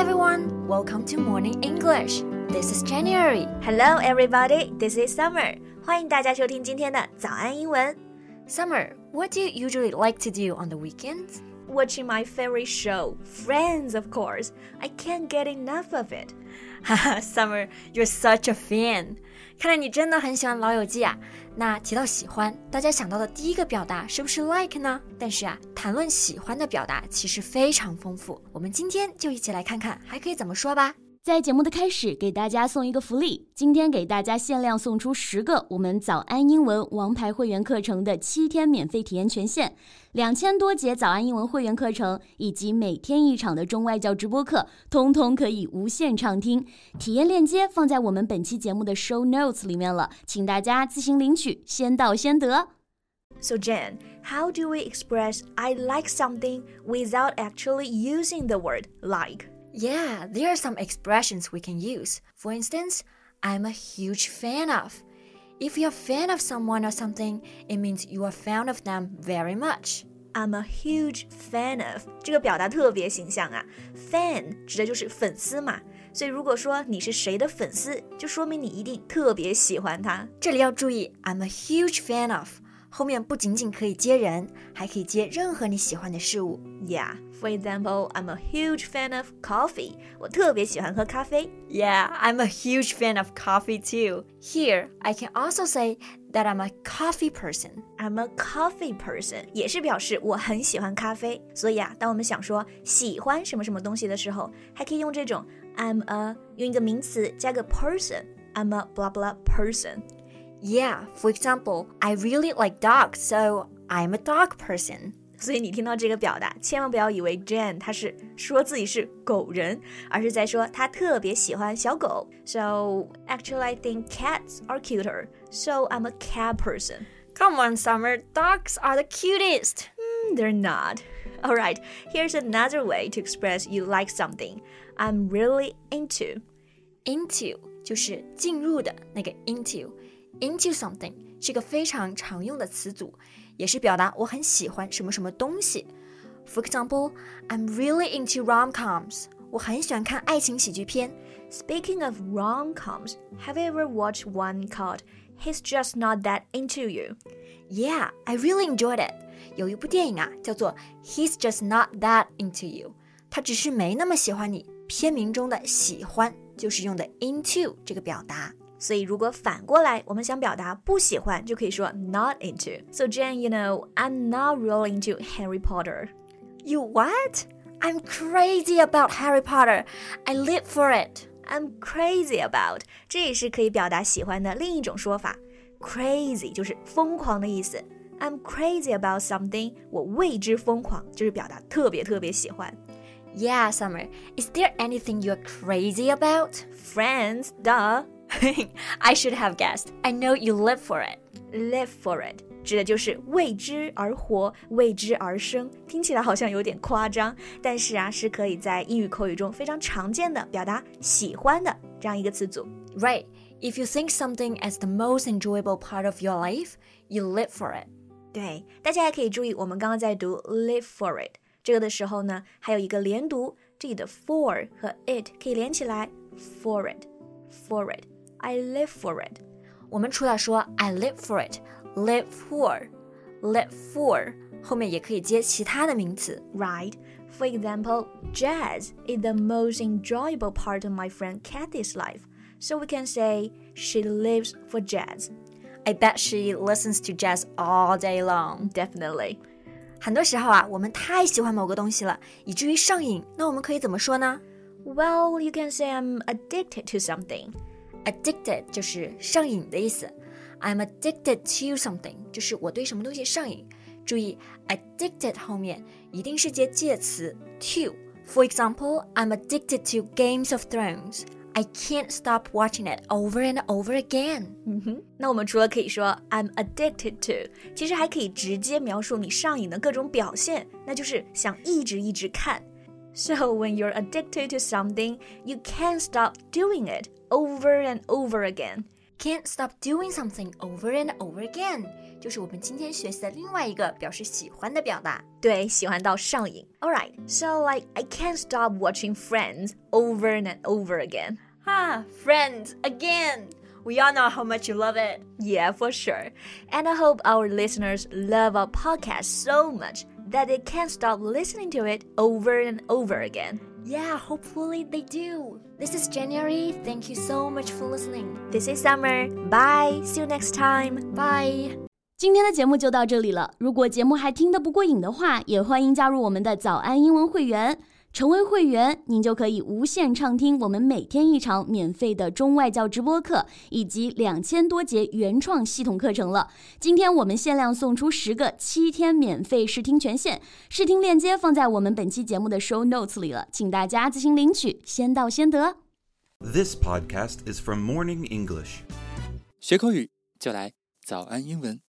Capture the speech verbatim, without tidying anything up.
everyone, welcome to Morning English. This is January. Hello everybody, this is Summer. 欢迎大家收听今天的早安英文。 Summer, what do you usually like to do on the weekends? Watching my favorite show, Friends, of course. I can't get enough of it. Haha, Summer, you're such a fan. 看来你真的很喜欢老友记啊。那提到喜欢，大家想到的第一个表达是不是 like 呢？但是啊，谈论喜欢的表达其实非常丰富。我们今天就一起来看看还可以怎么说吧。 在节目的开始，给大家送一个福利，今天给大家限量送出十个我们早安英文王牌会员课程的七天免费体验权限，两千多节早安英文会员课程以及每天一场的中外教直播课，通通可以无限畅听。体验链接放在我们本期节目的 show notes 里面了，请大家自行领取，先到先得。 So Jen, how do we express I like something without actually using the word like?Yeah, there are some expressions we can use. For instance, I'm a huge fan of. If you're a fan of someone or something, it means you are fan of them very much. I'm a huge fan of. 这个表达特别形象啊。Fan 指的就是粉丝嘛，所以如果说你是谁的粉丝，就说明你一定特别喜欢他。 这里要注意 I'm a huge fan of.后面不仅仅可以接人，还可以接任何你喜欢的事物。 Yeah, for example, I'm a huge fan of coffee. 我特别喜欢喝咖啡。 Yeah, I'm a huge fan of coffee too. Here, I can also say that I'm a coffee person. I'm a coffee person 也是表示我很喜欢咖啡。所以啊，当我们想说喜欢什么什么东西的时候，还可以用这种 I'm a 用一个名词加个 person. I'm a blah blah person.Yeah, for example, I really like dogs, so I'm a dog person. 所以你听到这个表达，千万不要以为 Jen 她是说自己是狗人，而是在说她特别喜欢小狗。So, actually, I think cats are cuter, so I'm a cat person. Come on, Summer, dogs are the cutest. Mm, they're not. All right, here's another way to express you like something. I'm really into. Into 就是进入的那个 into.Into something 是个非常常用的词组，也是表达我很喜欢什么什么东西。For example, I'm really into rom-coms. 我很喜欢看爱情喜剧片。 Speaking of rom-coms, have you ever watched one called He's Just Not That Into You? Yeah, I really enjoyed it. 有一部电影啊，叫做 He's Just Not That Into You. 他只是没那么喜欢你。片名中的喜欢就是用的 into 这个表达。 所以如果反过来我们想表达不喜欢就可以说 not into. So Jen, you know, I'm not really into Harry Potter. You what? I'm crazy about Harry Potter. I live for it. I'm crazy about. 这也是可以表达喜欢的另一种说法。Crazy 就是疯狂的意思。I'm crazy about something. 我为之疯狂，就是表达特别特别喜欢。 Yeah, Summer. Is there anything you're crazy about? Friends, duh.I should have guessed. I know you live for it. Live for it 指的就是为之而活，为之而生。听起来好像有点夸张，但是啊，是可以在英语口语中非常常见的表达喜欢的这样一个词组。 Right. If you think something as the most enjoyable part of your life, you live for it. 对，大家还可以注意，我们刚刚在读 live for it 这个的时候呢，还有一个连读，这里的 for 和 it 可以连起来 for it, for it.I live for it. 我们除了说 I live for it, live for, live for 后面也可以接其他的名词 Right. For example, jazz is the most enjoyable part of my friend Kathy's life. So we can say she lives for jazz. I bet she listens to jazz all day long. Definitely. 很多时候啊，我们太喜欢某个东西了，以至于上瘾，那我们可以怎么说呢？ Well, you can say I'm addicted to something.Addicted 就是上瘾的意思 I'm addicted to something 就是我对什么东西上瘾注意 addicted 后面一定是接介词 to For example, I'm addicted to Games of Thrones I can't stop watching it over and over again 嗯哼，那我们除了可以说 I'm addicted to 其实还可以直接描述你上瘾的各种表现那就是想一直一直看So when you're addicted to something, you can't stop doing it over and over again. Can't stop doing something over and over again. 就是我们今天学习的另外一个表示喜欢的表达。 对，喜欢到上瘾。Alright, so like I can't stop watching Friends over and over again. Ah, Friends, again. We all know how much you love it. Yeah, for sure. And I hope our listeners love our podcast so much that they can't stop listening to it over and over again. Yeah, hopefully they do. This is January. Thank you so much for listening. This is Summer. Bye. See you next time. Bye. 今天的节目就到这里了。如果节目还听得不过瘾的话，也欢迎加入我们的早安英文会员。成为会员，您就可以无限畅听我们每天一场免费的中外教直播课，以及两千多节原创系统课程了。今天我们限量送出十个七天免费试听权限，试听链接放在我们本期节目的 show notes 里了，请大家自行领取，先到先得。 This podcast is from Morning English. 学口语就来早安英文。